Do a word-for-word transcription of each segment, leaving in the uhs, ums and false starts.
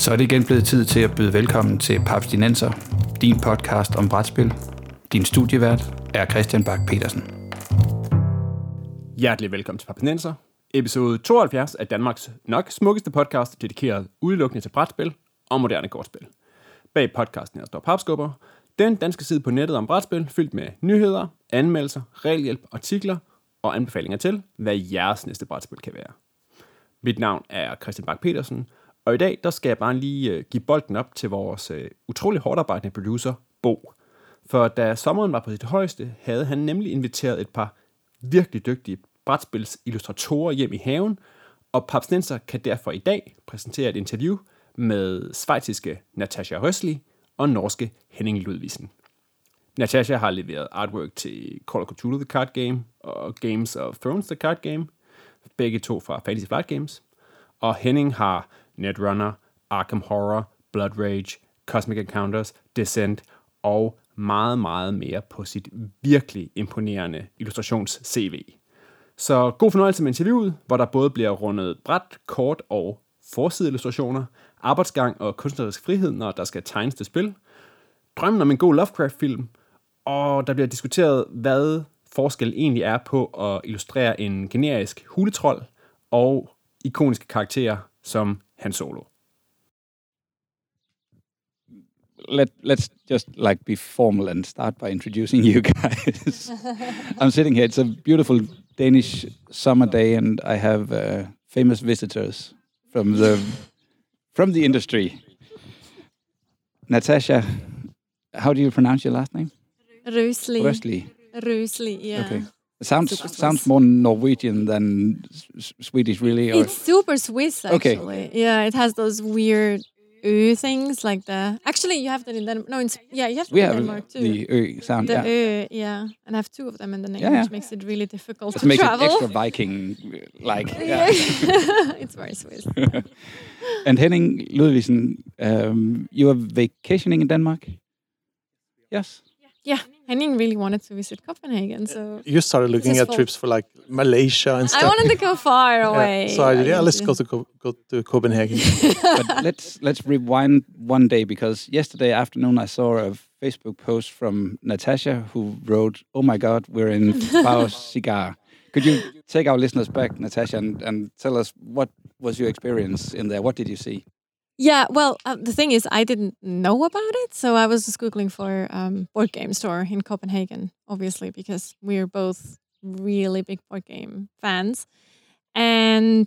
Så er det igen blevet tid til at byde velkommen til Papstinenser, din podcast om brætspil. Din studievært er Christian Bak Petersen. Hjertelig velkommen til Papstinenser, episode tooghalvfjerds af Danmarks nok smukkeste podcast, dedikeret udelukkende til brætspil og moderne kortspil. Bag podcasten her står Papskubber, den danske side på nettet om brætspil, fyldt med nyheder, anmeldelser, regelhjælp, artikler og anbefalinger til, hvad jeres næste brætspil kan være. Mit navn er Christian Bak Petersen, og i dag der skal jeg bare lige uh, give bolden op til vores uh, utrolig hårdt arbejdende producer, Bo. For da sommeren var på sit højeste, havde han nemlig inviteret et par virkelig dygtige brætspilsillustratorer hjem i haven, og Papstinenser kan derfor i dag præsentere et interview med schweiziske Natasha Rössli og norske Henning Ludvigsen. Natasha har leveret artwork til Call of Cthulhu The Card Game og Games of Thrones The Card Game, begge to fra Fantasy Flight Games, og Henning har Netrunner, Arkham Horror, Blood Rage, Cosmic Encounters, Descent og meget, meget mere på sit virkelig imponerende illustrations-C V. Så god fornøjelse med interviewet, hvor der både bliver rundet bræt, kort og forsideillustrationer, arbejdsgang og kunstnerisk frihed, når der skal tegnes til spil, drømmen om en god Lovecraft-film, og der bliver diskuteret, hvad forskel egentlig er på at illustrere en generisk huletrold og ikoniske karakterer som Han Solo. Let, let's just like be formal and start by introducing you guys. I'm sitting here. It's a beautiful Danish summer day, and I have uh, famous visitors from the from the industry. Natasha, how do you pronounce your last name? Rössli. Rössli. Rössli, yeah. Okay. It sounds sounds more Norwegian than s- Swedish, really. Or? It's super Swiss, actually. Okay. Yeah, it has those weird ö things, like the... Actually, you have that in Denmark. No, in, yeah, you have that We in have Denmark, too. the ö sound, The yeah. ö, yeah. And I have two of them in the name, Yeah, yeah. which makes it really difficult It to makes travel. it extra Viking-like. Yeah. Yeah. It's very Swiss. And Henning Ludvigsen, um, you are vacationing in Denmark? Yes? Yeah, Henning really wanted to visit Copenhagen, so... You started looking at fault. trips for like Malaysia and stuff. I wanted to go far away. Yeah, so I, yeah, let's guess. go to Co- go to Copenhagen. But let's let's rewind one day, because yesterday afternoon I saw a Facebook post from Natasha who wrote, "Oh my God, we're in Bao Cigar." Could you take our listeners back, Natasha, and, and tell us what was your experience in there? What did you see? Yeah, well, uh, the thing is, I didn't know about it, so I was just Googling for um, board game store in Copenhagen, obviously, because we're both really big board game fans. And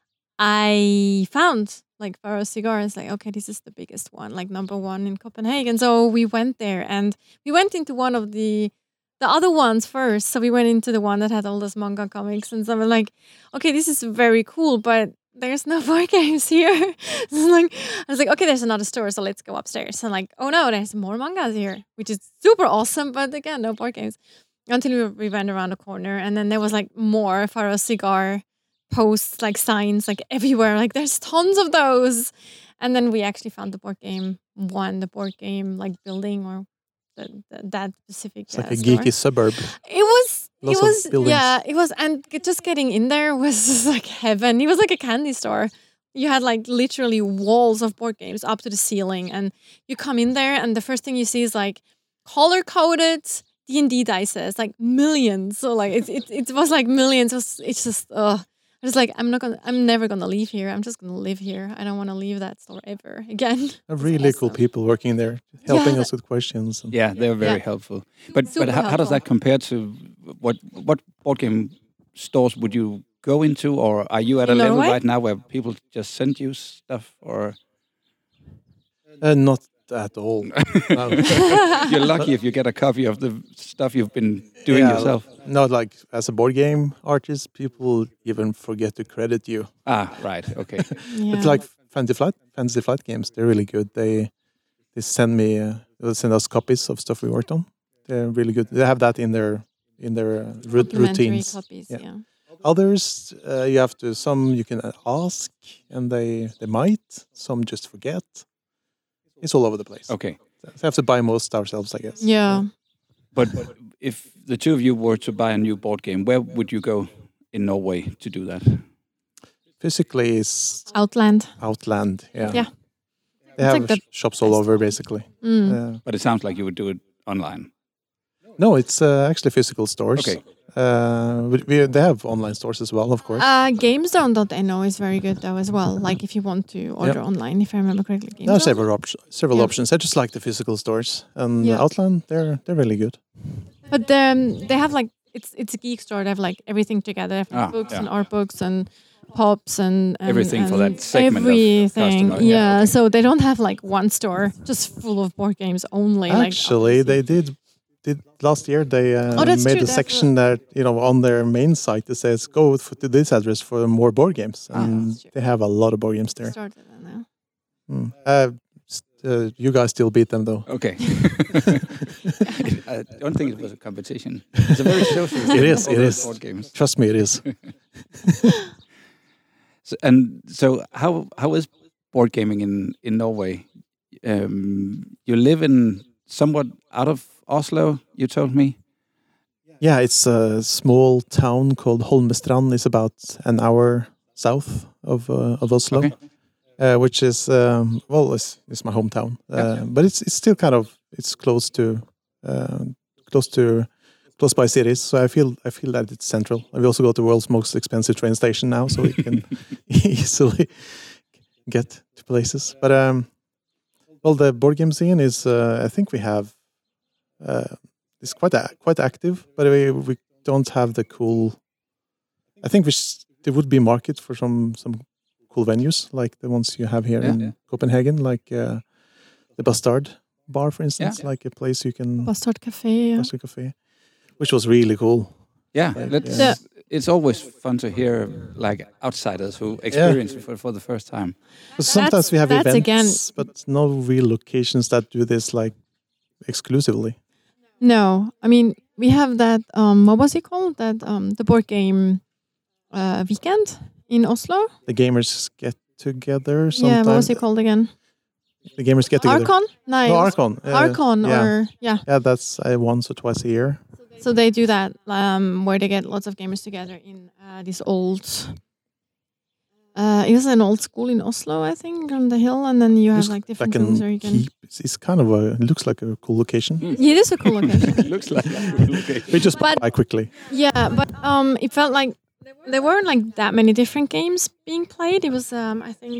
I found, like, Faro Cigars, like, okay, this is the biggest one, like, number one in Copenhagen. So we went there, and we went into one of the the other ones first. So we went into the one that had all those manga comics, and so we're like, okay, this is very cool, but there's no board games here. So like, I was like, okay, there's another store, so let's go upstairs. And like, oh no, there's more mangas here, which is super awesome, but again, no board games. Until we, we went around the corner, and then there was like more Faro Cigar posts, like signs, like everywhere. Like there's tons of those. And then we actually found the board game one, the board game like building or the, the, that specific. It's like uh, a store. geeky suburb. It was. Lots it was. of buildings. Yeah, it was, and just getting in there was just like heaven. It was like a candy store. You had like literally walls of board games up to the ceiling, and you come in there, and the first thing you see is like color coded D and D dice, like millions. So like it, it, it was like millions. It was, it's just, uh, I was like, I'm not gonna, I'm never gonna leave here. I'm just gonna live here. I don't want to leave that store ever again. Really It's cool awesome. people working there, helping Yeah. us with questions. And Yeah, they were very Yeah. helpful. But Super but how, how does helpful. that compare to what what board game stores would you go into, or are you at a In level Norway? right now where people just send you stuff, or uh, not at all. No. you're lucky if you get a copy of the stuff you've been doing Yeah, yourself? Not like as a board game artist, people even forget to credit you. Ah, right, okay. Yeah. It's like Fantasy Flight, Fantasy Flight games. They're really good. They they send me, uh, they'll send us copies of stuff we worked on. They're really good. They have that in their in their uh, ru- Complimentary routines. copies, Yeah. yeah. Others, uh, you have to. Some you can ask, and they they might. Some just forget. It's all over the place. Okay. So we have to buy most ourselves, I guess. Yeah. But if the two of you were to buy a new board game, where would you go in Norway to do that? Physically, is Outland. Outland. Yeah. Yeah. They It's have like the sh- shops all over, basically. Mm. Uh, But it sounds like you would do it online. no, it's uh, actually physical stores. Okay. Uh, we, we, they have online stores as well, of course. Uh, GameZone dot no is very good though as well. Like if you want to order online, if I remember correctly. There are GameZone. several, op- several Yeah. options. I just like the physical stores. And Yeah. Outland, they're they're really good. But um, they have like it's it's a geek store. They have like everything together, they have Ah, books yeah. and art books and pops and, and Everything for that and segment of everything. customer. Yeah, Yeah, okay. so they don't have like one store just full of board games only. Actually, like, they did did last year. They uh, Oh, that's made true, a that's section that you know on their main site that says go f- to this address for more board games, Ah, and that's true. they have a lot of board games there. started that now. Mm. Uh, s- uh, you guys still beat them though. Okay. I don't think it was a competition. It's a very social It thing, is, all it those is. board games. Trust me, it is. So, and so, how how is board gaming in in Norway? Um, you live in somewhat out of Oslo. You told me. Yeah, it's a small town called Holmestrand. It's about an hour south of uh, of Oslo, Okay. uh, which is um, well, it's, it's my hometown. Uh, Yeah. But it's it's still kind of it's close to uh, close to close by cities. So I feel I feel that it's central. We also got the world's most expensive train station now, so we can easily get to places. But um, well, the board game scene is uh, I think we have. Uh, It's quite a, quite active, but we we don't have the cool. I think we sh- there would be a market for some some cool venues like the ones you have here Yeah. in Yeah. Copenhagen, like uh, the Bastard Bar, for instance, like a place you can Bastard Cafe. Yeah. Bastard Cafe, which was really cool. Yeah, Yeah. let's, Yeah. it's always fun to hear like outsiders who experience it for, for the first time. But sometimes That's- we have that's events, again- but no real locations that do this like exclusively. No, I mean we have that. Um, what was it called? That um, the board game uh, weekend in Oslo. The gamers get together. Sometimes. Yeah, what was it called again? The gamers get together. Archon? No, it No, was Archon. uh, Archon yeah. or yeah. Yeah, that's uh, once or twice a year. So they do that um, where they get lots of gamers together in uh, this old. Uh, it was an old school in Oslo, I think, on the hill, and then you have Looks like different like rooms an where you can. keep. It's, it's kind of a. It looks like a cool location. Yeah, it is a cool location. It looks like okay. We just But- buy quickly. Yeah, but um, it felt like there weren't like that many different games being played. It was, um, I think,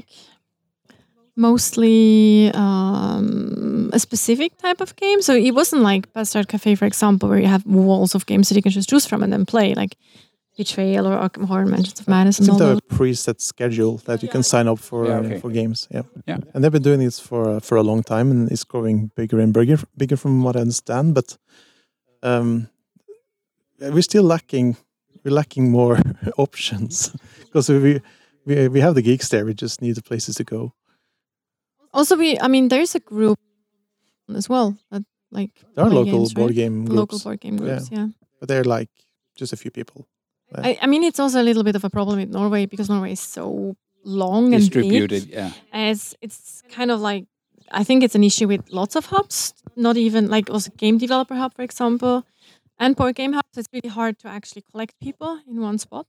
mostly um, a specific type of game. So it wasn't like Bastard Cafe, for example, where you have walls of games that you can just choose from and then play, like Betrayal or Arkham Horror, Mansions of Madness, I and all think they have those. a preset schedule that you can sign up for Yeah, uh, okay. for games. Yeah, Yeah. and they've been doing this for uh, for a long time, and it's growing bigger and bigger, bigger from what I understand. But um, we're still lacking. We're lacking more options because we we we have the geeks there. We just need the places to go. Also, we, I mean, there's a group as well that like There are play local games, board right? game groups, local board game groups. Yeah. but they're like just a few people. I, I mean, it's also a little bit of a problem with Norway because Norway is so long and big. Distributed, yeah. It's it's kind of like I think it's an issue with lots of hubs. Not even like also Game Developer Hub, for example, and Board Game Hub. So it's really hard to actually collect people in one spot.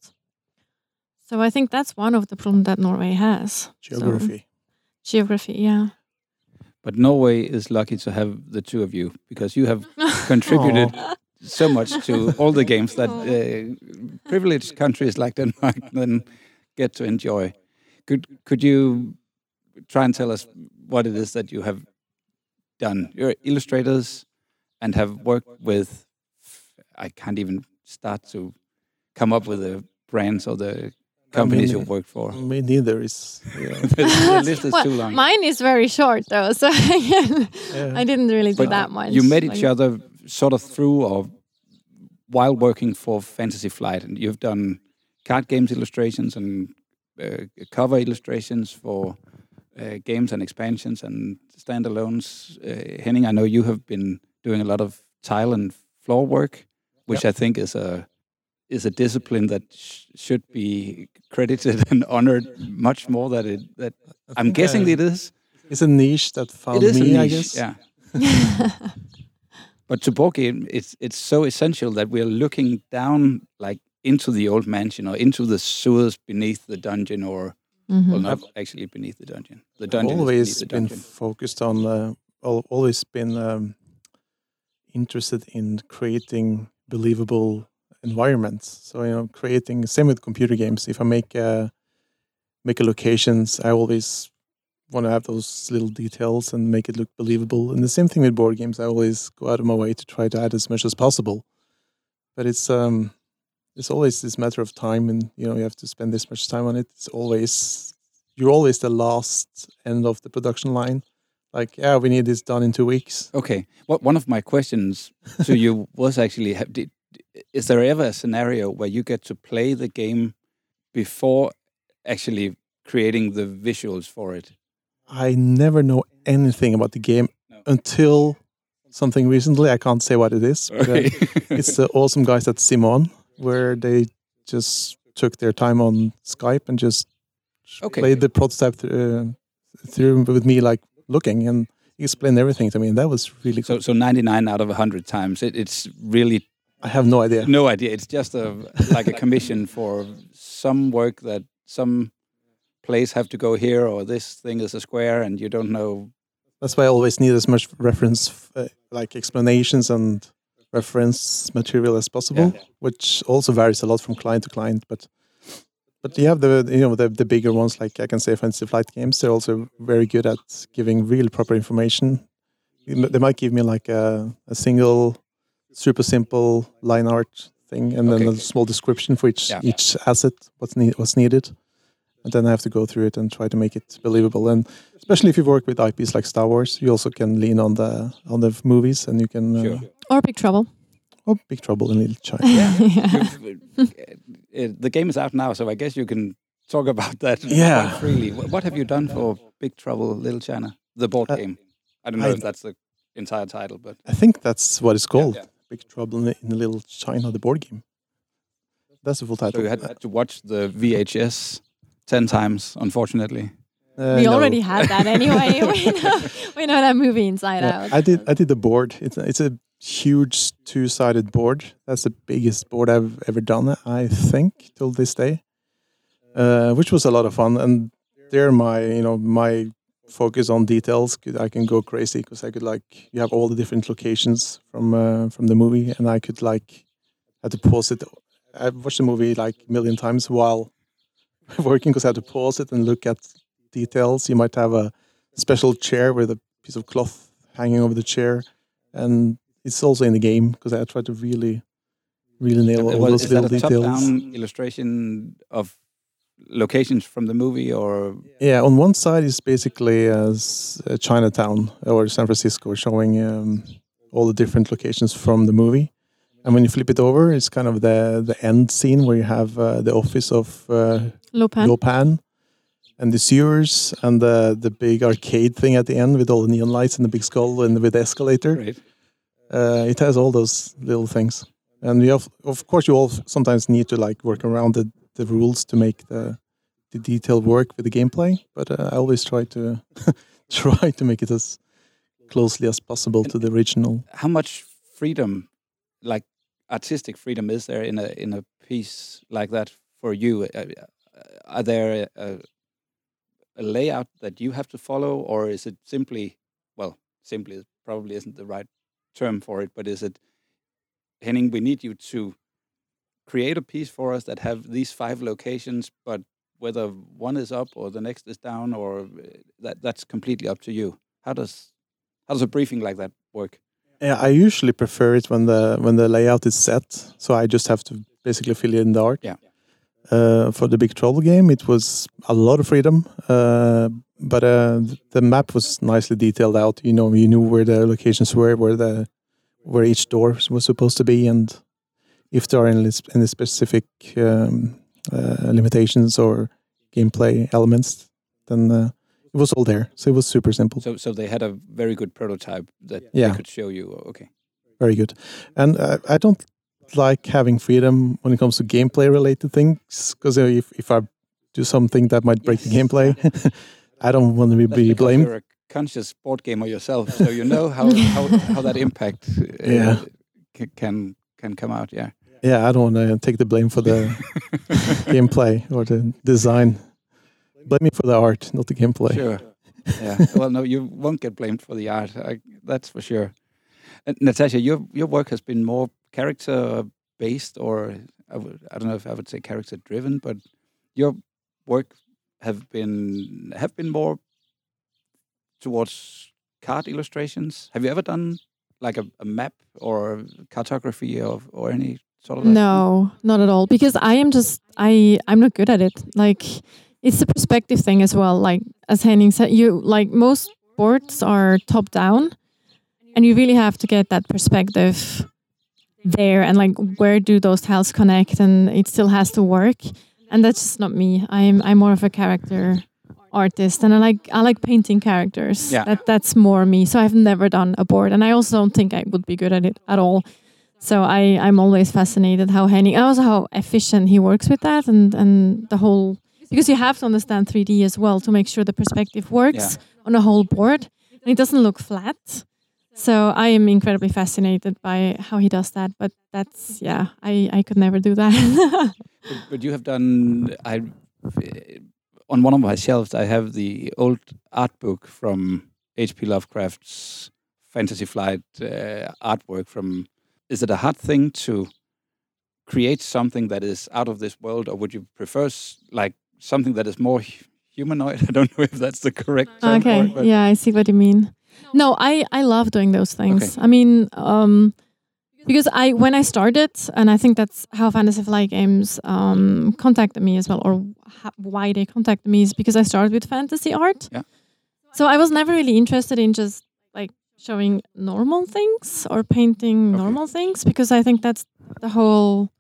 So I think that's one of the problems that Norway has. So- Geography. geography, yeah. But Norway is lucky to have the two of you because you have contributed so much to all the games that uh, privileged countries like Denmark then get to enjoy. Could could you try and tell us what it is that you have done? You're illustrators and have worked with. I can't even start to come up with the brands or the companies mean, you've worked for. Me neither is. Yeah. The list is Well, too long. mine is very short though, so Yeah. I didn't really do But that much. You met each Like- other sort of through or while working for Fantasy Flight, and you've done card games illustrations and uh, cover illustrations for uh, games and expansions and standalones. Uh, Henning, I know you have been doing a lot of tile and floor work, which I think is a is a discipline that sh- should be credited and honored much more than it that I'm think, guessing uh, it is. It's a niche that found It is me, a niche, I guess. yeah. But to board game, it's it's so essential that we're looking down like into the old mansion or into the sewers beneath the dungeon or Mhm. Well, not actually beneath the dungeon. The dungeon always is beneath the been dungeon. focused on, uh, al- always been um, interested in creating believable environments. So you know, creating same with computer games. If I make a make a locations, I always want to have those little details and make it look believable. And the same thing with board games. I always go out of my way to try to add as much as possible. But it's um, it's always this matter of time, and you know, you have to spend this much time on it. It's always you're always the last end of the production line. Like, yeah, we need this done in two weeks. Okay. What one of my questions to you was actually: have, did, is there ever a scenario where you get to play the game before actually creating the visuals for it? I never know anything about the game No. until something recently. I can't say what it is. But, uh, Okay. it's the awesome guys at Simon, where they just took their time on Skype and just Okay. played the prototype th- uh, through with me, like looking, and he explained everything to me, and that was really So cool. so ninety-nine out of one hundred times, it, it's really I have no idea. no idea. It's just a like a commission for some work that some place have to go here, or this thing is a square, and you don't know. That's why I always need as much reference, uh, like explanations and reference material as possible, Yeah. which also varies a lot from client to client. But but you have the you know the the bigger ones, like I can say Fantasy Flight Games. They're also very good at giving real proper information. You m- They might give me like a, a single, super simple line art thing, and then Okay. a small description for each Yeah. each asset, what's need, what's needed. And then I have to go through it and try to make it believable. And especially if you work with I Ps like Star Wars, you also can lean on the on the movies, and you can. Uh, Sure. Or Big Trouble. Oh, Big Trouble in Little China. You've- uh, the game is out now, so I guess you can talk about that Yeah. quite freely. What, what have you done for Big Trouble Little China, the board Uh, game? I don't know I- if that's the entire title, but I think that's what it's called. yeah. Big Trouble in, in Little China, the board game. That's the full title. so you had to watch the V H S ten times, unfortunately. Uh, we no. already had that anyway. we, know, we know that movie inside Yeah, out. I did. I did the board. It's a, it's a huge two-sided board. That's the biggest board I've ever done, I think, till this day. Uh, which was a lot of fun. And there, my you know my focus on details, could, I can go crazy because I could like you have all the different locations from uh, from the movie, and I could like had to pause it. I watched the movie like a million times while working because I had to pause it and look at details. You might have a special chair with a piece of cloth hanging over the chair, and it's also in the game because I tried to really, really nail all Was- those is that little a details. top-down illustration of locations from the movie, or Yeah, on one side is basically uh, s- uh, Chinatown or San Francisco, showing um, all the different locations from the movie. And when you flip it over, it's kind of the the end scene where you have uh, the office of uh, Lopan. Lopan, and the sewers, and the the big arcade thing at the end with all the neon lights and the big skull and with the escalator. right? Uh, it has all those little things, and you have, of course, you all sometimes need to like work around the, the rules to make the the detail work with the gameplay. But uh, I always try to try to make it as closely as possible to the original. How much freedom, like artistic freedom, is there in a in a piece like that for you? Uh, are there a, a layout that you have to follow, or is it simply, well, simply probably isn't the right term for it, but is it, Henning, we need you to create a piece for us that have these five locations, but whether one is up or the next is down, or uh, that that's completely up to you. How does how does a briefing like that work? Yeah, I usually prefer it when the when the layout is set, so I just have to basically fill it in the art. Yeah. Uh, for the Big Trouble game, it was a lot of freedom, uh, but uh, th- the map was nicely detailed out. You know, you knew where the locations were, where the where each door was supposed to be, and if there are any, any specific um, uh, limitations or gameplay elements, then uh, it was all there. So it was super simple. So, so they had a very good prototype that Yeah. they could show you. Okay. Very good. And uh, I don't like having freedom when it comes to gameplay related things, because if, if I do something that might break the Yes. gameplay, I don't want to be, That's be because blamed. you're a conscious board gamer yourself, so you know how how, how that impact uh, Yeah. ca- can can come out. Yeah. Yeah, I don't want to take the blame for the gameplay or the design. Blame me for the art, not the gameplay. Sure. Yeah. Well, no, you won't get blamed for the art. I, that's for sure. And Natasha, your your work has been more character based, or I, would, I don't know if I would say character driven, but your work have been have been more towards card illustrations. Have you ever done like a, a map or cartography of or any sort of that? No, not at all. Because I am just I I'm not good at it. Like it's the perspective thing as well. Like as Henning said, you like most boards are top down, and you really have to get that perspective there and like where do those tiles connect, and it still has to work. And that's just not me. I'm I'm more of a character artist, and I like I like painting characters. Yeah. That that's more me. So I've never done a board, and I also don't think I would be good at it at all. So I I'm always fascinated how Henning, and also how efficient he works with that, and and the whole, because you have to understand three D as well to make sure the perspective works Yeah. on a whole board, and it doesn't look flat. So I am incredibly fascinated by how he does that. But that's yeah, I I could never do that. But, but you have done. I on one of my shelves, I have the old art book from H P Lovecraft's Fantasy Flight uh, artwork. From is it a hard thing to create something that is out of this world, or would you prefer s- like something that is more hu- humanoid? I don't know if that's the correct term for Okay, it, but yeah, I see what you mean. No, I, I love doing those things. I mean, um, because I when I started, and I think that's how Fantasy Flight Games um, contacted me as well, or ha- why they contacted me is because I started with fantasy art. Yeah. So I was never really interested in just like showing normal things or painting Okay. normal things, because I think that's the whole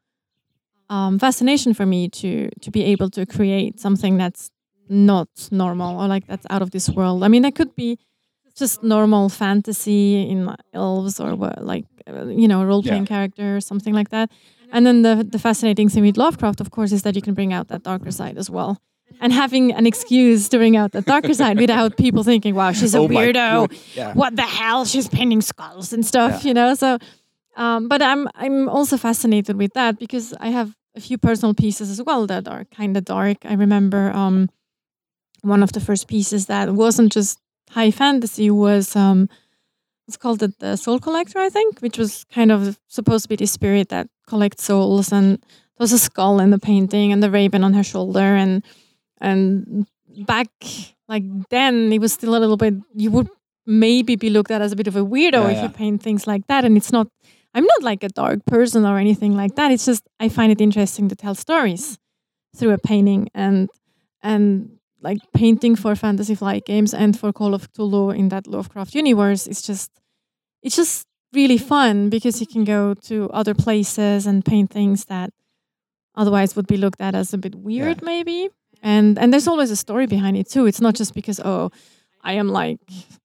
um, fascination for me to to be able to create something that's not normal or like that's out of this world. I mean, it could be just normal fantasy in elves or what, like uh, you know, role playing Yeah. character or something like that. And then the the fascinating thing with Lovecraft, of course, is that you can bring out that darker side as well. And having an excuse to bring out the darker side without people thinking, "Wow, she's a Oh my weirdo. God, yeah. What the hell? She's painting skulls and stuff," Yeah. you know. So, um, but I'm I'm also fascinated with that because I have a few personal pieces as well that are kind of dark. I remember um, one of the first pieces that wasn't just high fantasy was um, it's called the, the Soul Collector, I think, which was kind of supposed to be the spirit that collects souls, and there was a skull in the painting and the raven on her shoulder, and and back like then it was still a little bit, you would maybe be looked at as a bit of a weirdo Yeah, if yeah. you paint things like that. And it's not, I'm not like a dark person or anything like that. It's just I find it interesting to tell stories through a painting, and and like painting for Fantasy Flight Games and for Call of Cthulhu in that Lovecraft universe. It's just it's just really fun because you can go to other places and paint things that otherwise would be looked at as a bit weird, Yeah. maybe. And and there's always a story behind it too. It's not just because oh, I am like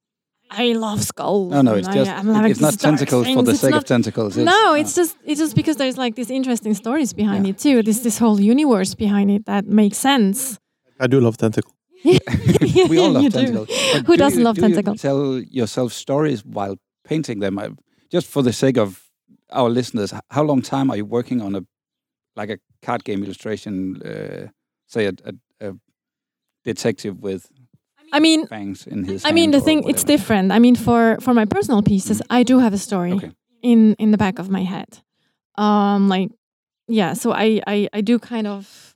I love skulls. No, no, and it's I just am like it's not these dark tentacles for things. the It's sake not- of tentacles. It's, no, uh, it's just it's just because there's like these interesting stories behind Yeah. it too. This this whole universe behind it that makes sense. I do love tentacle. we all love You do. tentacles. But Who do doesn't you, love do tentacles? You tell yourself stories while painting them. I, just for the sake of our listeners, h- how long time are you working on a like a card game illustration? Uh, say a, a, a detective with I mean, fangs in his. I mean, hand the or thing it's whatever. different. I mean, for for my personal pieces, I do have a story Okay. in in the back of my head. Um, like, yeah. So I I I do kind of,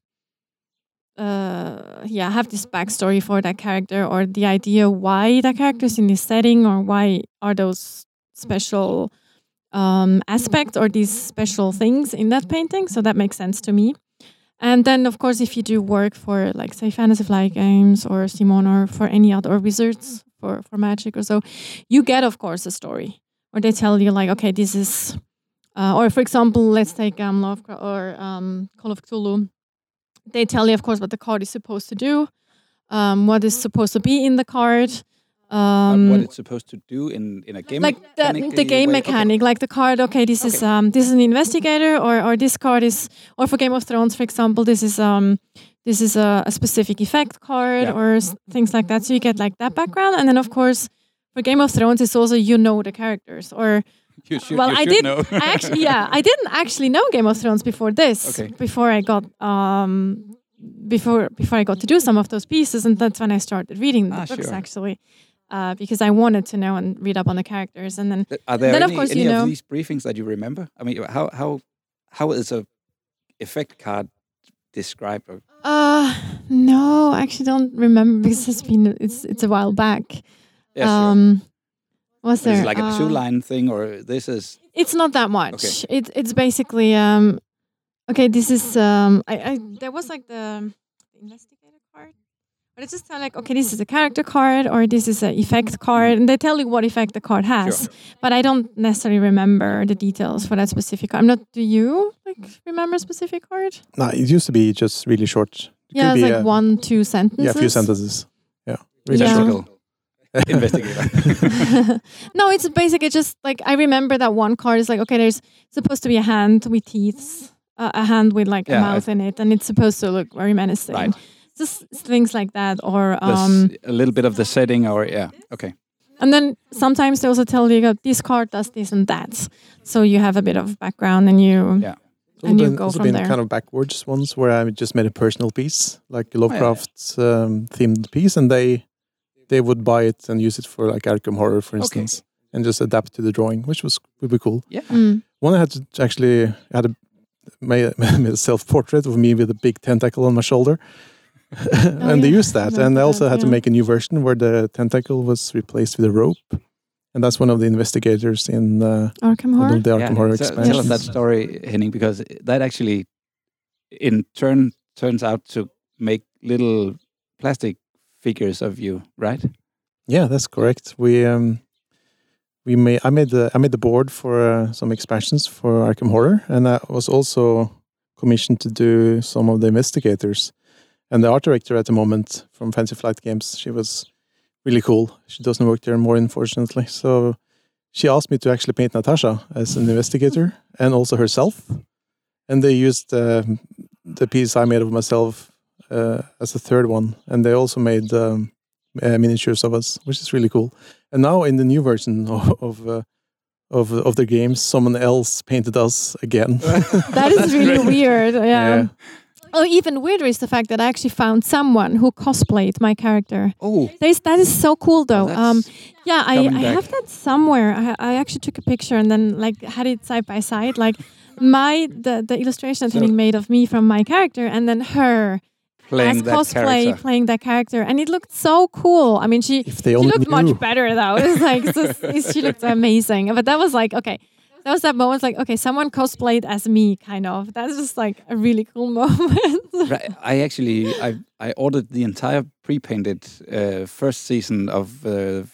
uh, yeah, have this backstory for that character or the idea why that character is in this setting or why are those special um aspects or these special things in that painting. So that makes sense to me. And then, of course, if you do work for, like, say, Fantasy Flight Games or Simon or for any other, or Wizards for, for Magic or so, you get, of course, a story. Or they tell you, like, okay, this is... Uh, or, for example, let's take um, Lovecraft or um, Call of Cthulhu. They tell you, of course, what the card is supposed to do, um, what is supposed to be in the card. Uh, Um, what it's supposed to do in in a game. like the, mechanic, the uh, game way? Okay. mechanic, like the card. Okay, this is Okay. um this is an investigator, or or this card is, or for Game of Thrones, for example, this is um this is a, a specific effect card Yeah. or s- things like that. So you get like that background, and then of course for Game of Thrones, it's also you know the characters. Or You should, well, you I should did. know. I actually, yeah, I didn't actually know Game of Thrones before this. Okay. Before I got um before before I got to do some of those pieces, and that's when I started reading the Ah, books sure. actually, uh, because I wanted to know and read up on the characters, and then Th- Are there then any, of course any you of know. these briefings that you remember? I mean, how how how is a effect card described? Or- Uh no, I actually don't remember because it's been it's it's a while back. Yeah, sure. um, was But there is it like a uh, two-line thing, or this is It's not that much. It, it's basically um, okay. This is um, I, I there was like the investigator card, but it's just kind of like okay, this is a character card or this is an effect card, and they tell you what effect the card has. Sure. But I don't necessarily remember the details for that specific card. I'm not. Do you like remember a specific card? No, it used to be just really short. It Yeah, could it's be, like uh, one, two sentences. Yeah, a few sentences. Yeah, really Yeah. short. technical investigator? No, it's basically just like I remember that one card is like okay, there's supposed to be a hand with teeth, uh, a hand with like Yeah, a mouth in it, and it's supposed to look very menacing. Right. Just things like that, or This- um, a little bit of the setting, or yeah, okay. and then sometimes they also tell you that this card does this and that, so you have a bit of background and you Yeah. Also and you been, go also from been there. kind of backwards ones where I just made a personal piece, like a Lovecraft um, themed piece, and they they would buy it and use it for like Arkham Horror, for Okay. instance, and just adapt to the drawing, which was would be cool. Yeah. Mm. One I had to actually I had a made, made a self portrait of me with a big tentacle on my shoulder, and they yeah. used that. I And I remember also that, had to yeah. make a new version where the tentacle was replaced with a rope, and that's one of the investigators in uh, Arkham one Horror. of the Arkham Yeah, Horror so- expansion. Tell us that story, Henning, because that actually, in turn, turns out to make little plastic figures of you, right? Yeah, that's correct. We um, we made I made the I made the board for uh, some expansions for Arkham Horror, and I was also commissioned to do some of the investigators. And the art director at the moment from Fancy Flight Games, she was really cool. She doesn't work there anymore, unfortunately. So she asked me to actually paint Natasha as an investigator and also herself. And they used uh, the piece I made of myself uh, as the third one, and they also made um, uh, miniatures of us, which is really cool. And now in the new version of of, uh, of of the games, someone else painted us again. That is really weird. Yeah. Yeah. Oh, even weirder is the fact that I actually found someone who cosplayed my character. Oh, That is, that is so cool, though. that's Um, yeah, I, coming I back. have that somewhere. I, I actually took a picture and then like had it side by side, like my the the illustration that So- Henning made of me from my character, and then her playing as that cosplay character. playing that character, and it looked so cool. I mean, she If they she only looked knew. much better though. It was like so, she looked amazing, but that was like okay. That was that moment, like okay, someone cosplayed as me, kind of. That's just like a really cool moment. Right. I actually I I ordered the entire pre-painted uh, first season of uh,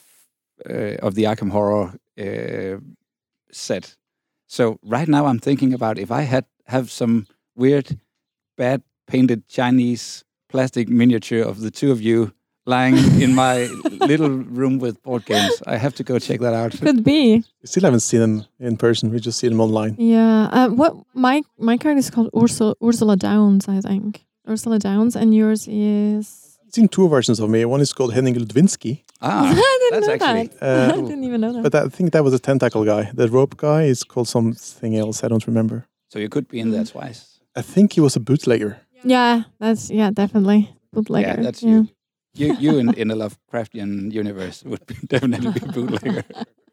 uh, of the Arkham Horror uh, set. So right now I'm thinking about if I had have some weird, bad painted Chinese plastic miniature of the two of you lying in my little room with board games. I have to go check that out. Could be. We still haven't seen them in person. We just see them online. Yeah. Uh, what my my character is called Ursula Ursula Downs, I think. Ursula Downs, and yours is. I've seen two versions of me. One is called Henning Ludvinsky, Ah, I didn't that's know actually that. uh, I didn't even know that. but I think that was a tentacle guy. The rope guy is called something else. I don't remember. so you could be in there twice. I think he was a bootlegger. Yeah, that's yeah, definitely bootlegger. Yeah, that's yeah. you. You you in, in a Lovecraftian universe would be definitely be a bootlegger.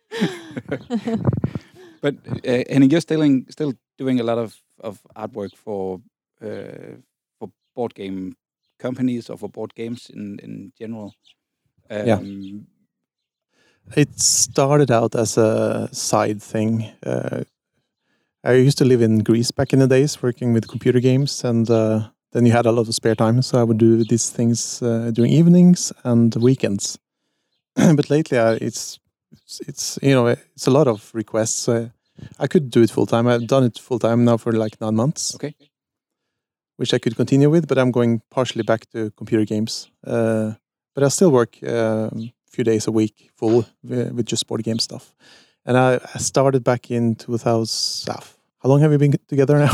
But uh, Henning, you're still in, still doing a lot of, of artwork for uh, for board game companies or for board games in in general. Um, Yeah. It started out as a side thing. Uh, I used to live in Greece back in the days, working with computer games, and uh, then you had a lot of spare time, so I would do these things uh, during evenings and weekends. But lately, I, it's, it's it's you know it's a lot of requests. So I could do it full time. I've done it full time now for like nine months. Okay. Which I could continue with, but I'm going partially back to computer games. Uh, but I still work um, a few days a week full with, with just board game stuff. And I, I started back in two thousand. Ah, how long have we been together now?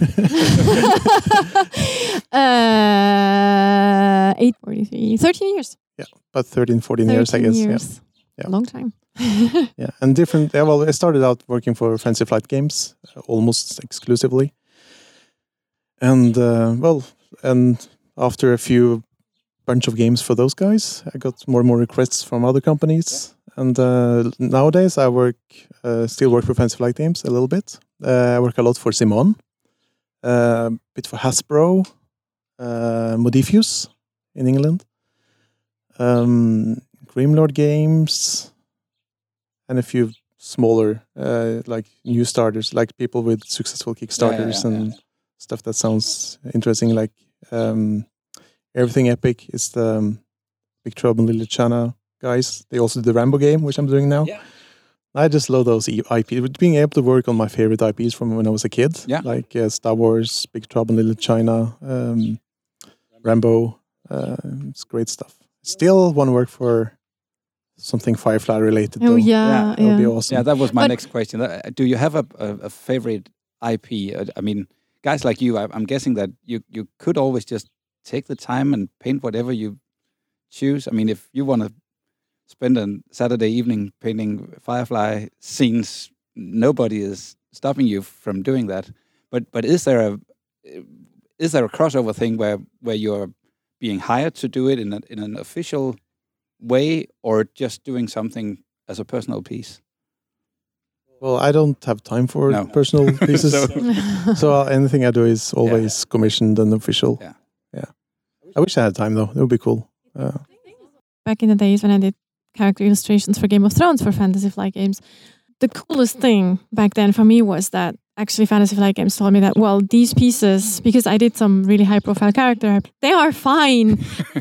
uh, eight forty-three, thirteen years. About thirteen, fourteen years, I guess. Yeah. Years. Yeah. A long time. Yeah, and different. Yeah, well, I started out working for Fancy Flight Games uh, almost exclusively, and uh, well, and after a few bunch of games for those guys, I got more and more requests from other companies. Yeah. And uh, nowadays, I work uh, still work for Fantasy Flight Games a little bit. Uh, I work a lot for Simon, a uh, bit for Hasbro, uh, Modifius in England, um, Grimlord Games, and a few smaller, uh, like new starters, like people with successful Kickstarters yeah, yeah, and yeah. stuff that sounds interesting. Like um, Everything Epic is the um, Big Trouble in Little China guys. They also do the Rambo game, which I'm doing now. Yeah. I just love those I Ps. Being able to work on my favorite I Ps from when I was a kid, yeah. like uh, Star Wars, Big Trouble in Little China, um, Rambo. Uh, it's great stuff. Still want to work for something Firefly related. Oh though. yeah, yeah, that would be awesome. Yeah, that was my but next question. Do you have a, a, a favorite I P? I mean, guys like you, I, I'm guessing that you you could always just take the time and paint whatever you choose. I mean, if you want to spend a Saturday evening painting Firefly scenes, nobody is stopping you from doing that. But but is there a is there a crossover thing where where you're being hired to do it in a, in an official way, or just doing something as a personal piece? Well, I don't have time for no. personal pieces, so, so uh, anything I do is always yeah. commissioned and official. Yeah, yeah. I wish I had time though; it would be cool. Uh, Back in the days when I did character illustrations for Game of Thrones for Fantasy Flight Games, the coolest thing back then for me was that actually Fantasy Flight Games told me that, well, these pieces, because I did some really high profile character, they are fine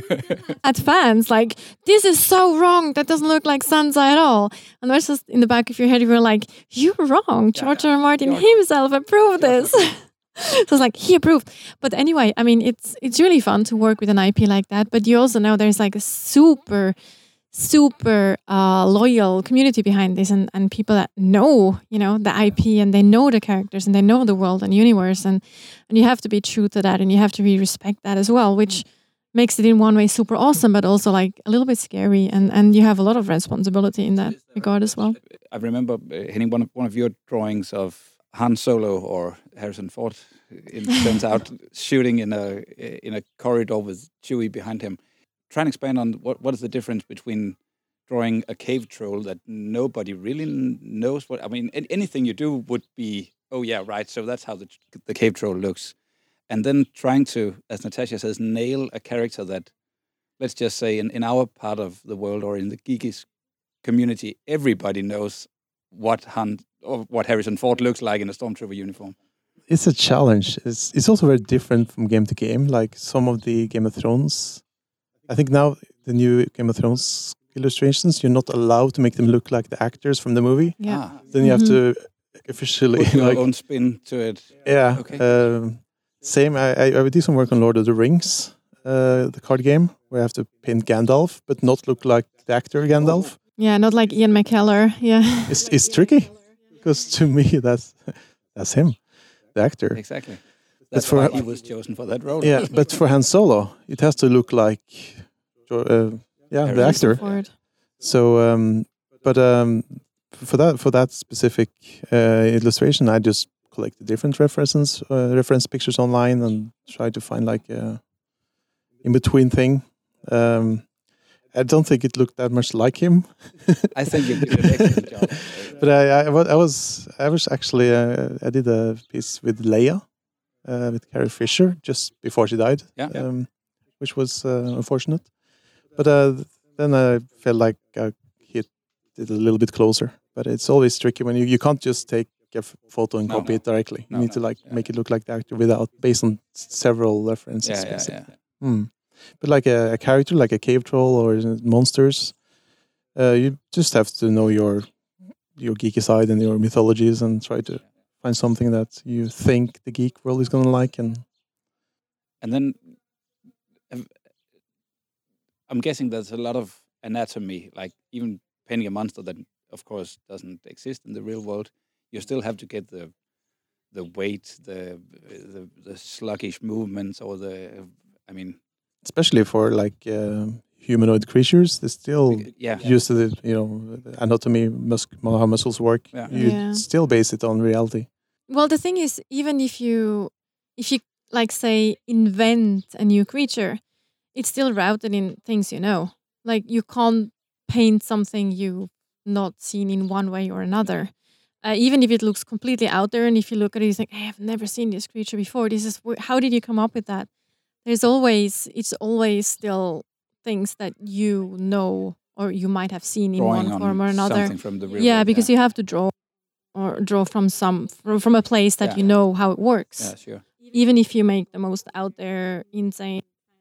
at fans. Like, this is so wrong. That doesn't look like Sansa at all. And that's just in the back of your head, you were like, you're wrong. George R. R. Martin himself approved this. So it's like, he approved. But anyway, I mean, it's it's really fun to work with an I P like that. But you also know there's like a super... super uh, loyal community behind this, and, and people that know, you know, the I P, and they know the characters, and they know the world and universe, and and you have to be true to that, and you have to really respect that as well, which makes it in one way super awesome, but also like a little bit scary, and, and you have a lot of responsibility in that regard as well. I remember uh, hitting one of one of your drawings of Han Solo or Harrison Ford. It turns out shooting in a in a corridor with Chewie behind him. Try and expand on what, what is the difference between drawing a cave troll that nobody really knows what... I mean, anything you do would be, oh yeah, right, so that's how the, the cave troll looks. And then trying to, as Natasha says, nail a character that, let's just say, in, in our part of the world or in the geekies community, everybody knows what Han or what Harrison Ford looks like in a Stormtrooper uniform. It's a challenge. It's, it's also very different from game to game. Like some of the Game of Thrones... I think now the new Game of Thrones illustrations, you're not allowed to make them look like the actors from the movie. Yeah. Ah. Then you have Mm-hmm. to officially Put your like own spin to it. yeah. Okay. Um, same. I, I I would do some work on Lord of the Rings, uh, the card game, where I have to paint Gandalf, but not look like the actor Gandalf. Yeah, not like Ian McKellar. Yeah. It's it's tricky because to me that's that's him, the actor. Exactly. That's for- why he was chosen for that role. Yeah, but for Han Solo, it has to look like uh, yeah the actor. Ford. So, um, but um, for that for that specific uh, illustration, I just collect the different references, uh, reference pictures online, and try to find like a in between thing. Um, I don't think it looked that much like him, I think you did an excellent job. but I, I, wa- I was I was actually uh, I did a piece with Leia, uh, with Carrie Fisher just before she died, Yeah. um, which was uh, unfortunate. But uh, then I felt like I hit it a little bit closer. But it's always tricky when you, you can't just take a f- photo and No, copy no. it directly. No, you need no, to like yeah. make it look like the actor without based on s- several references. Yeah, yeah, basically. yeah. Hmm. But like a, a character, like a cave troll or monsters, uh, you just have to know your your geeky side and your mythologies and try to find something that you think the geek world is gonna like. And And then um, I'm guessing there's a lot of anatomy, like even painting a monster that, of course, doesn't exist in the real world. You still have to get the the weight, the the, the sluggish movements, or the, I mean, especially for like uh, humanoid creatures, they still yeah, used to the you know the anatomy, mus- how muscles work. Yeah. You Yeah. still base it on reality. Well, the thing is, even if you, if you like say, invent a new creature, it's still rooted in things you know. Like you can't paint something you've not seen in one way or another. Uh, even if it looks completely out there, and if you look at it, you think, hey, I've never seen this creature before. This is wh- how did you come up with that? There's always, it's always still things that you know or you might have seen in Drawing one on form or another. something from the real Yeah, world, because you have to draw or draw from some from, from a place that Yeah. you know how it works. Yeah, sure. Even if you make the most out there, insane.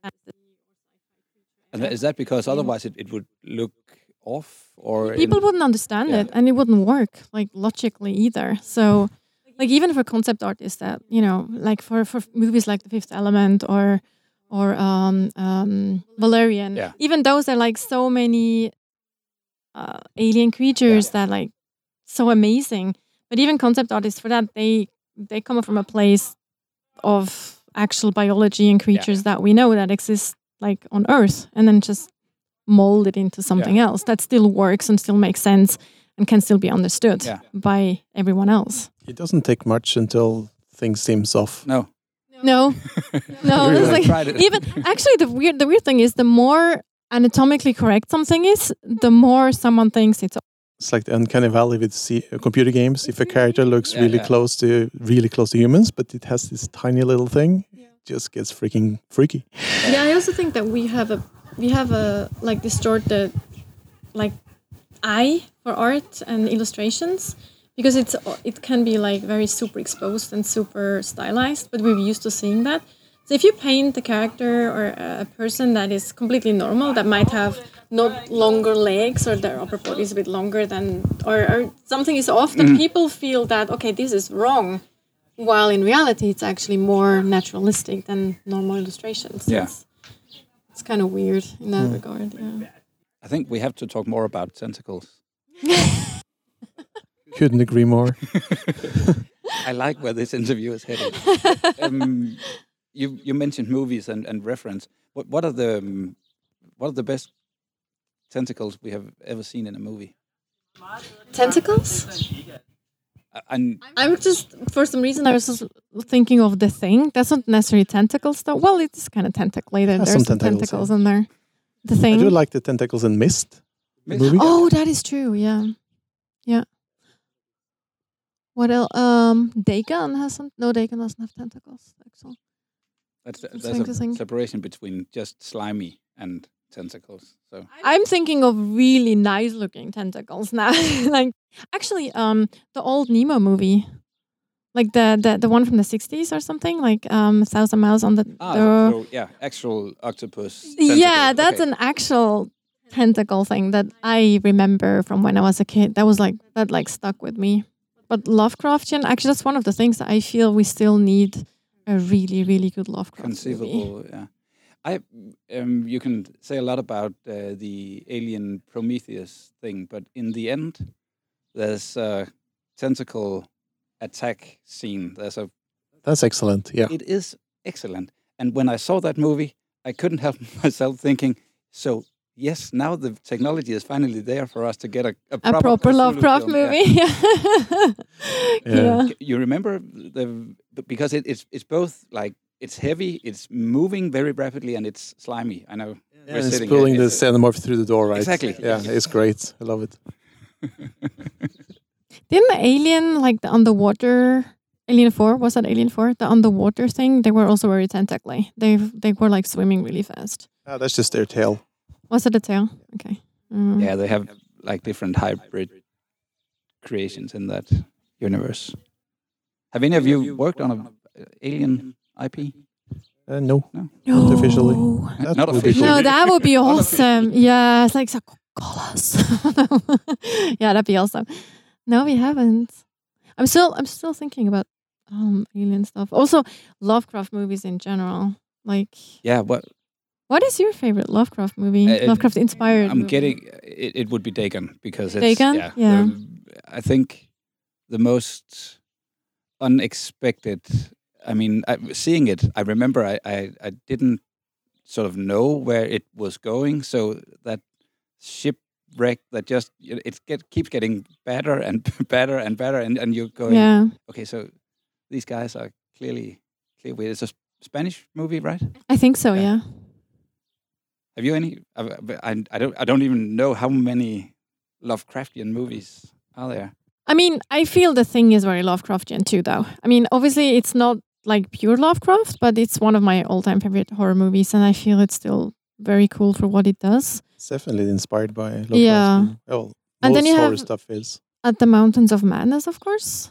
And tha- is that because otherwise it, it would look off? Or People in- wouldn't understand yeah. it, and it wouldn't work like logically either. So, like even for concept artists, that you know, like for, for movies like The Fifth Element or or um, um, Valerian, Yeah. even those are like so many uh, alien creatures that like so amazing. But even concept artists for that, they they come from a place of actual biology and creatures that we know that exist like on Earth, and then just mold it into something else that still works and still makes sense and can still be understood Yeah. by everyone else. It doesn't take much until things seems off. No. No, no. Really It's like, tried it. even actually, the weird the weird thing is, the more anatomically correct something is, the more someone thinks it's. It's like the uncanny valley with C- uh, computer games. If a character looks Yeah, really yeah. close to really close to humans, but it has this tiny little thing, it just gets freaking freaky. Yeah, I also think that we have a we have a like distorted like eye for art and illustrations, because it's it can be like very super exposed and super stylized, but we're used to seeing that. So if you paint a character or a person that is completely normal, that might have not longer legs or their upper body is a bit longer than, or, or something is off, then people feel that, okay, this is wrong. While in reality, it's actually more naturalistic than normal illustrations. Yeah. It's, it's kind of weird in that regard. Yeah. I think we have to talk more about tentacles. Couldn't agree more. I like where this interview is headed. um, you you mentioned movies and, and reference. What what are the um, what are the best tentacles we have ever seen in a movie? Tentacles? Uh, and I would just, for some reason, I was just thinking of The Thing. That's not necessarily tentacles, though. Well, it's kind of tentacly. There. Has There's some some tentacles, tentacles yeah. in there. The I Thing. do like the tentacles in Mist. the Mist? movie. Oh, that is true. Yeah, yeah. What else? Um, Dagon has some. No, Dagon doesn't have tentacles. Actually. that's, It's there's interesting. a separation between just slimy and tentacles. So I'm thinking of really nice-looking tentacles now. Like, actually, um, the old Nemo movie, like the the, the one from the sixties or something, like um, A Thousand Miles on the. ah, the so, yeah, actual octopus. yeah, tentacles. that's Okay. an actual tentacle thing that I remember from when I was a kid. That was like that like stuck with me. But Lovecraftian, actually, that's one of the things that I feel we still need a really, really good Lovecraft movie. Conceivable, yeah. I um, you can say a lot about uh, the Alien Prometheus thing, but in the end, there's a tentacle attack scene. There's a. That's excellent. Yeah. It is excellent, and when I saw that movie, I couldn't help myself thinking. So yes, now the technology is finally there for us to get a a, A proper, proper Cthulhu Lovecraft film. Yeah. movie. Yeah. Yeah. yeah. You remember the because it, it's it's both like it's heavy, it's moving very rapidly, and it's slimy. I know. Yeah, and it's pulling the xenomorph through the door, right? Exactly. Yeah, it's great. I love it. Didn't the Alien, like the underwater, Alien four, was that Alien four? The underwater thing, they were also very tentacly. They they were like swimming really fast. Ah, that's just their tail. Was it a tail? Okay. Mm. Yeah, they have like different hybrid creations in that universe. Have any of you worked on a uh, Alien I P? Uh, no, No, not officially. That Not would be officially. cool. No, that would be awesome. Yeah, it's like, so call us. Yeah, that'd be awesome. No, we haven't. I'm still, I'm still thinking about um alien stuff. Also, Lovecraft movies in general. Like, Yeah, what what is your favorite Lovecraft movie? Uh, Lovecraft inspired. I'm movie? getting it, it would be Dagon because it's Dagon? yeah. Yeah. the- I think the most unexpected. I mean, I, seeing it, I remember I, I I didn't sort of know where it was going. So that shipwreck that just it it get, keeps getting better and better and better, and and you're going, Yeah. okay, so these guys are clearly clearly it's a Spanish movie, right? I think so. Yeah. Yeah. Have you any? I, I, I don't. I don't even know how many Lovecraftian movies are there. I mean, I feel The Thing is very Lovecraftian too, though. I mean, obviously, it's not like pure Lovecraft, but it's one of my all-time favorite horror movies, and I feel it's still very cool for what it does. It's definitely inspired by Lovecraft. Yeah. Well, And then most you horror have- stuff is. At the Mountains of Madness, of course,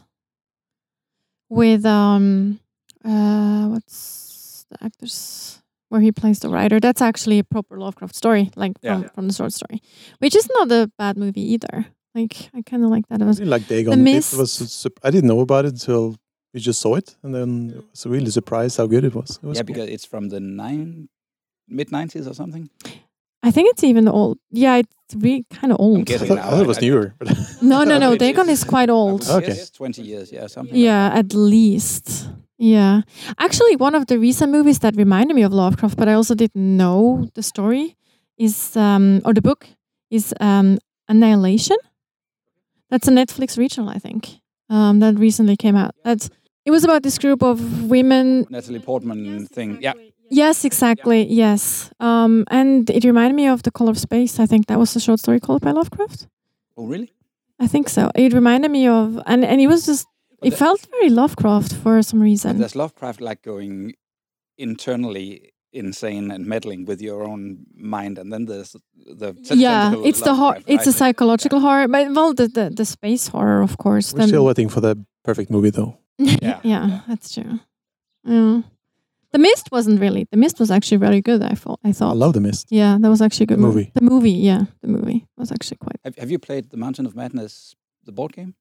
with um, uh, what's the actor's where he plays the writer. That's actually a proper Lovecraft story, like Yeah. from, from the short story, which is not a bad movie either. Like I kind of like that. It I was didn't like Dagon. The It Mist. was. a sup- I didn't know about it until we just saw it, and then I was really surprised how good it was. It was Yeah, cool. because it's from the nine mid nineties or something. I think it's even old. Yeah, it's really kind of I'm old. I guessing thought, now. I thought it was I- newer. But No, no, no. It Dagon is- is quite I old. would Okay. guess twenty years, yeah, something. Yeah, like at least. Yeah. Actually, one of the recent movies that reminded me of Lovecraft, but I also didn't know the story, is, um, or the book, is um, Annihilation. That's a Netflix original, I think, um, that recently came out. That's, it was about this group of women. that. Natalie Portman thing. Yeah, Yes, exactly. Yes. Um, and it reminded me of The Color of Space. I think that was a short story called by Lovecraft. oh really? I think so. It reminded me of, and, and it was just, But it the- felt very Lovecraft for some But reason. there's Lovecraft like going internally insane and meddling with your own mind, and then there's the Yeah, tentacle it's the horror. Lovecraft, It's a right? psychological horror, but well, the the, the space horror, of course. we're then- still waiting for the perfect movie, though. Yeah. yeah, that's true. Yeah. The Mist wasn't really. The Mist was actually very good. I thought. I I thought. love The Mist. Yeah, that was actually a good The movie. movie. The movie, yeah, the movie was actually quite. Have, have you played the Mountain of Madness, the board game?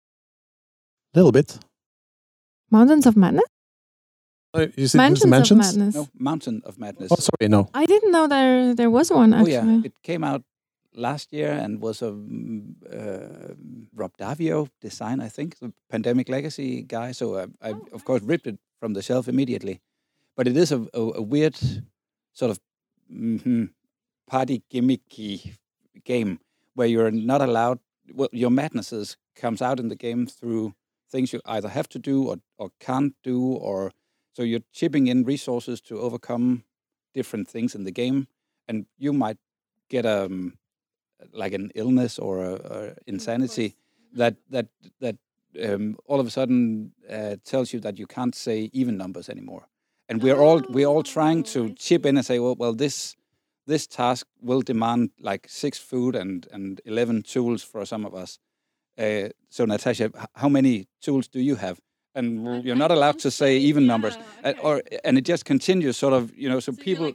A little bit. Mountains of Madness. Uh, you said Mansions, there's Mansions? of Madness. No, Mountain of Madness. Oh, sorry, no. I didn't know there there was one Oh actually. yeah, it came out last year and was a mm, uh, Rob Davio design, I think, the Pandemic Legacy guy. So I, I of course ripped it from the shelf immediately. But it is a, a, a weird sort of mm party gimmicky game where you're not allowed. Well, your madnesses comes out in the game through things you either have to do or, or can't do, or so you're chipping in resources to overcome different things in the game, and you might get a um, like an illness or a, a insanity that that that um, all of a sudden uh, tells you that you can't say even numbers anymore. And we're all we're all trying to chip in and say, well, well, this this task will demand like six food and and eleven tools for some of us. Uh, so Natasha, h- how many tools do you have? And w- you're not allowed to say even numbers, uh, or and it just continues, sort of, you know. So people,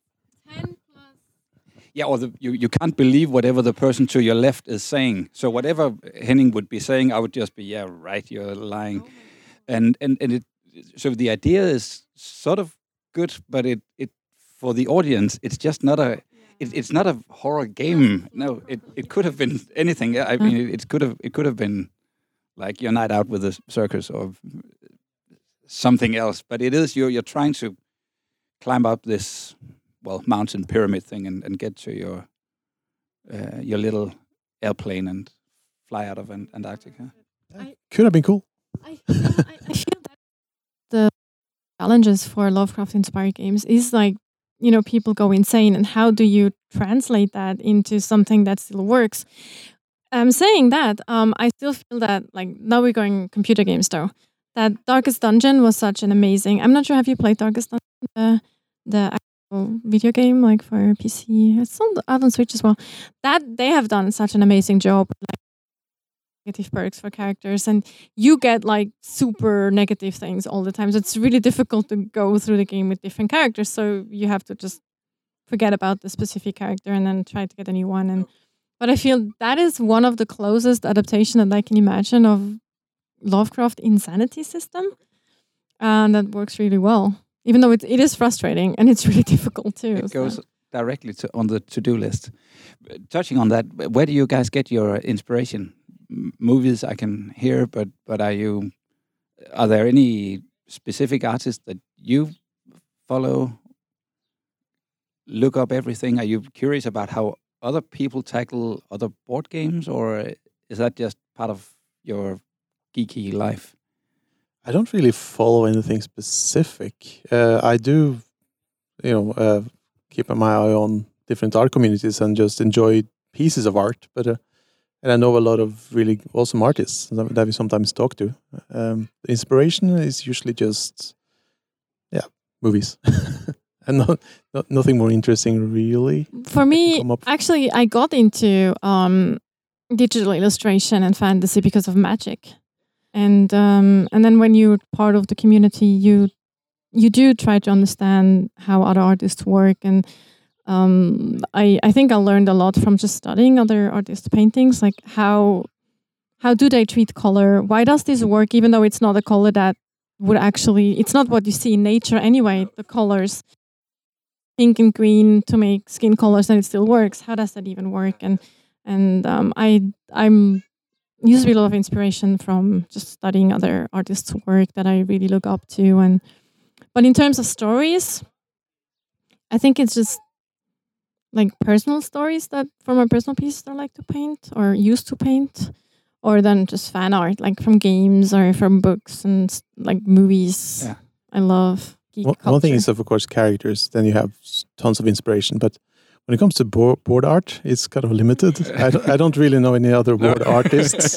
yeah, or the, you you can't believe whatever the person to your left is saying. So whatever Henning would be saying, I would just be, yeah, right, you're lying, and and and it. So the idea is sort of good, but it it for the audience, it's just not a. It, it's not a horror game. No, it, it could have been anything. I mean, it, it could have it could have been like your night out with the circus or something else. But it is you're you're trying to climb up this well mountain pyramid thing and, and get to your uh, your little airplane and fly out of Ant- Antarctica. Could have been cool. I, I, I feel that the challenges for Lovecraft-inspired games is like, you know, people go insane, and how do you translate that into something that still works? I'm saying that, um, I still feel that, like, now we're going computer games though, that Darkest Dungeon was such an amazing, I'm not sure, have you played Darkest Dungeon, the, the actual video game, like for P C? It's on the, out on Switch as well. That, they have done such an amazing job, like, negative perks for characters, and you get like super negative things all the time, so it's really difficult to go through the game with different characters, so you have to just forget about the specific character and then try to get a new one. And but I feel that is one of the closest adaptation that I can imagine of Lovecraft insanity system, and that works really well, even though it, it is frustrating and it's really difficult too. It so. goes directly to on the to-do list. Uh, Touching on that, where do you guys get your inspiration? M- movies I can hear, but but are you are there any specific artists that you follow? Look up everything. Are you curious about how other people tackle other board games, or is that just part of your geeky life? I don't really follow anything specific. Uh, I do, you know, uh, keep my eye on different art communities and just enjoy pieces of art. But uh, and I know a lot of really awesome artists that we sometimes talk to. Um, the inspiration is usually just, yeah, movies. And not, not, nothing more interesting, really. For me, actually, I got into um, digital illustration and fantasy because of Magic. And um, and then when you're part of the community, you you do try to understand how other artists work. And um, I, I think I learned a lot from just studying other artists' paintings, like how how do they treat color? Why does this work, even though it's not a color that would actually, it's not what you see in nature anyway, the colors, pink and green to make skin colors, and it still works. How does that even work? And and um, I I'm usually a lot of inspiration from just studying other artists' work that I really look up to. And but in terms of stories, I think it's just like personal stories that from my personal pieces that I like to paint or used to paint, or then just fan art like from games or from books and like movies. Yeah. I love geek one, culture. one thing is, of course, characters. Then you have tons of inspiration, but when it comes to board, board art, it's kind of limited. I, don't, I don't really know any other board artists.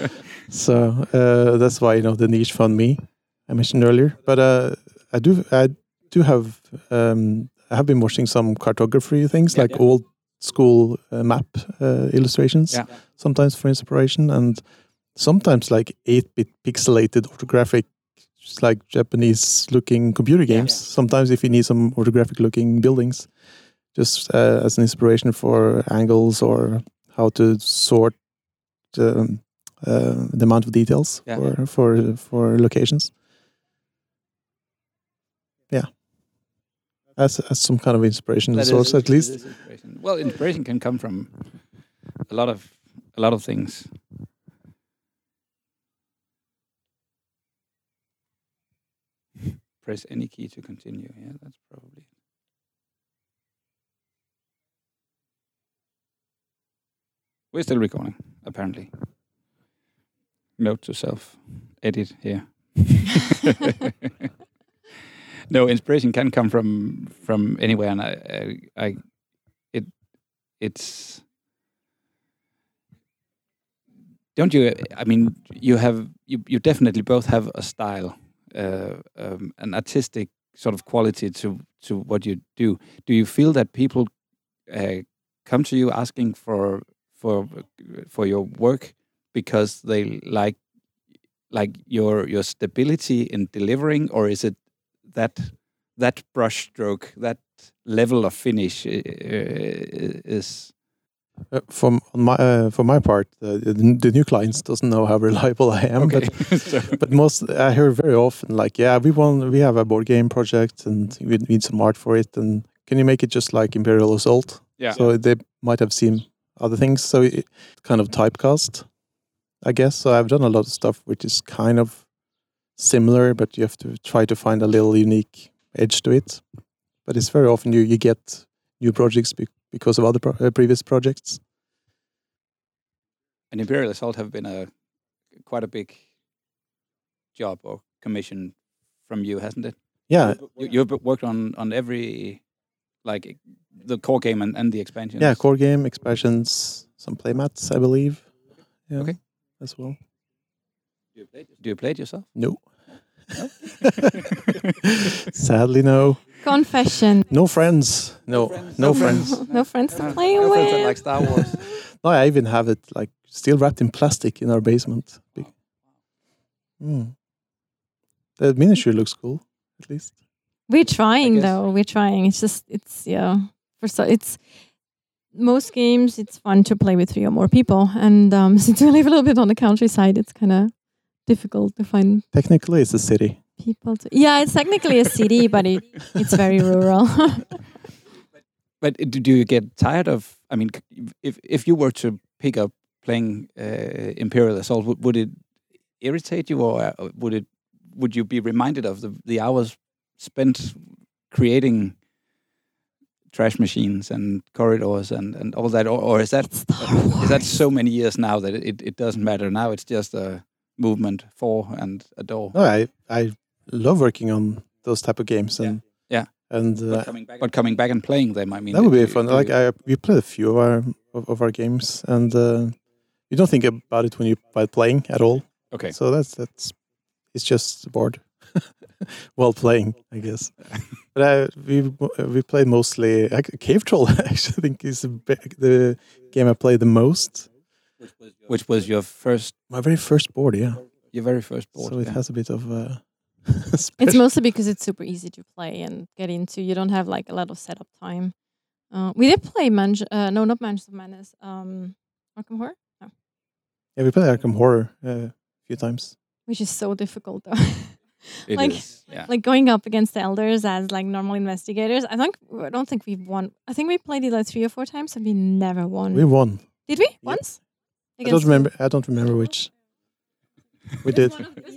So uh, that's why, you know, the niche found me, I mentioned earlier. But uh, I do I do have, um, I have been watching some cartography things, yeah, like yeah. old school uh, map uh, illustrations, yeah. sometimes for inspiration, and sometimes like eight-bit pixelated orthographic, just like Japanese-looking computer games. Yeah, yeah. Sometimes if you need some orthographic-looking buildings, just uh, as an inspiration for angles or how to sort um, uh, the amount of details yeah. for, for for locations. Yeah, as as some kind of inspiration that source, is, at least. Inspiration. Well, inspiration can come from a lot of a lot of things. Press any key to continue. Yeah, that's probably. We're still recording, apparently. Note to self, edit here. No, inspiration can come from from anywhere, and I, I, I it, it's. Don't you? I mean, you have you, you definitely both have a style, uh, um, an artistic sort of quality to to what you do. Do you feel that people uh, come to you asking for for for your work because they like like your your stability in delivering, or is it that that brush stroke, that level of finish uh, is? Uh, from my uh, for my part, uh, the, the new clients doesn't know how reliable I am, okay. but so. but most I hear very often like, yeah, we want we have a board game project and we need some art for it, and can you make it just like Imperial Assault? Yeah. So they might have seen other things, so it kind of typecast, I guess. So I've done a lot of stuff which is kind of similar, but you have to try to find a little unique edge to it. But it's very often you, you get new projects be- because of other pro- uh, previous projects. And Imperial Assault have been a quite a big job or commission from you, hasn't it? Yeah. You, you've worked on, on every, like, the core game and, and the expansions. Yeah, core game, expansions, some playmats, I believe. Yeah, okay. As well. Do you play it, Do you play it yourself? No. No? Sadly, no. Confession. No friends. No, no friends. No friends, no friends to play no with. Friends that like Star Wars. No, I even have it like still wrapped in plastic in our basement. Mm. The miniature looks cool, at least. We're trying though. We're trying. It's just it's yeah. For so it's most games. It's fun to play with three or more people, and um, since we live a little bit on the countryside, it's kind of difficult to find. Technically, it's a city. People to yeah, it's technically a city, but it it's very rural. But do you get tired of? I mean, if if you were to pick up playing uh, Imperial Assault, would, would it irritate you, or would it? Would you be reminded of the the hours spent creating trash machines and corridors and, and all that, or, or is that is that so many years now that it, it doesn't matter? Now it's just a movement for and a door. No, I I love working on those type of games, and Yeah. and uh, But coming back, but coming back and playing them, I mean, that would be do- fun. do Like you- I, we played a few of our of, of our games, and uh, you don't think about it when you by playing at all. okay. So that's that's it's just bored while playing, I guess. But I, we we played mostly ac- Cave Troll. Actually, I think is the, be- the game I played the most. Which was your first, My very first board, yeah. your very first board? So it yeah. has a bit of. Uh, It's special- mostly because it's super easy to play and get into. You don't have like a lot of setup time. Uh, we did play Manj- uh, no, not Mansions of Madness. Um, Arkham Horror, no, Yeah, we played Arkham Horror uh, a few times. which is so difficult though. It like- is, yeah. Like going up against the elders as like normal investigators. I think I don't think we've won. I think we played it like three or four times and we never won. We won. Did we Yeah. once? I don't remember. I don't remember which. We did.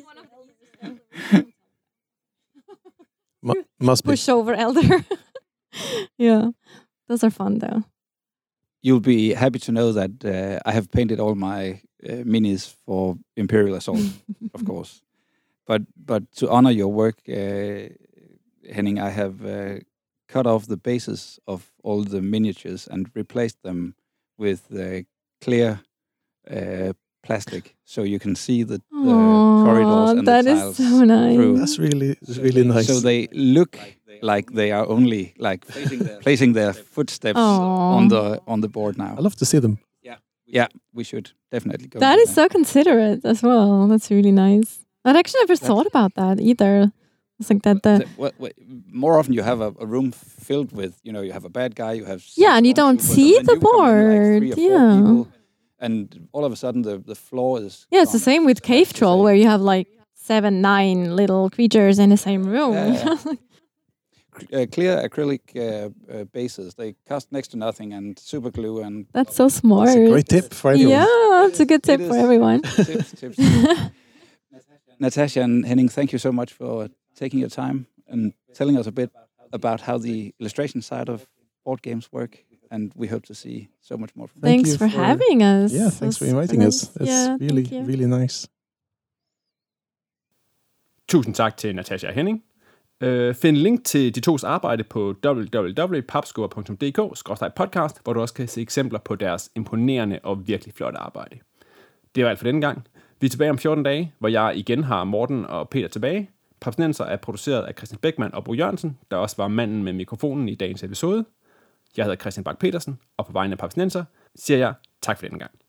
Mu- must be. Push over elder. Yeah, those are fun though. You'll be happy to know that uh, I have painted all my uh, minis for Imperial Assault, of course. But but to honor your work, uh, Henning, I have uh, cut off the bases of all the miniatures and replaced them with uh, clear uh, plastic, so you can see the, the Aw, corridors and that the is tiles so nice. through. That's really really nice. So they look like they are only like placing their footsteps Aw. on the on the board now. I love to see them. Yeah, we should definitely go. That do is so considerate as well. That's really nice. I'd actually never thought about that either. It's like that. The, The- what- what- more often you have a, a room filled with, you know, you have a bad guy, you have six Yeah, and you don't stormtroopers, see and the then you come in like three or board, four yeah. people, and all of a sudden the, the floor is yeah, it's the gone. same with So Cave that's the Troll, same. where you have like seven, nine little creatures in the same room. Yeah, uh, clear acrylic uh, uh, bases, they cost next to nothing, and super glue and That's so smart. That's a great tip for everyone. Yeah, it's a good tip It for is. everyone. tips, tips. Natasha and Henning, thank you so much for taking your time and telling us a bit about how the illustration side of board games work. And we hope to see so much more from you. Thank Thanks you for, for- having us. Yeah, It thanks was for super inviting nice. us. It's Yeah, really thank you. really nice. Tusind tak til Natasha og Henning. Uh, find link til de tos arbejde på w w w punktum papskubber punktum d k skråstreg podcast, hvor du også kan se eksempler på deres imponerende og virkelig flotte arbejde. Det var alt for denne gang. Vi er tilbage om fjorten dage, hvor jeg igen har Morten og Peter tilbage. Papsnenser er produceret af Christian Beckmann og Bo Jørgensen, der også var manden med mikrofonen i dagens episode. Jeg hedder Christian Bak Petersen, og på vegne af Papsnenser siger jeg tak for denne gang.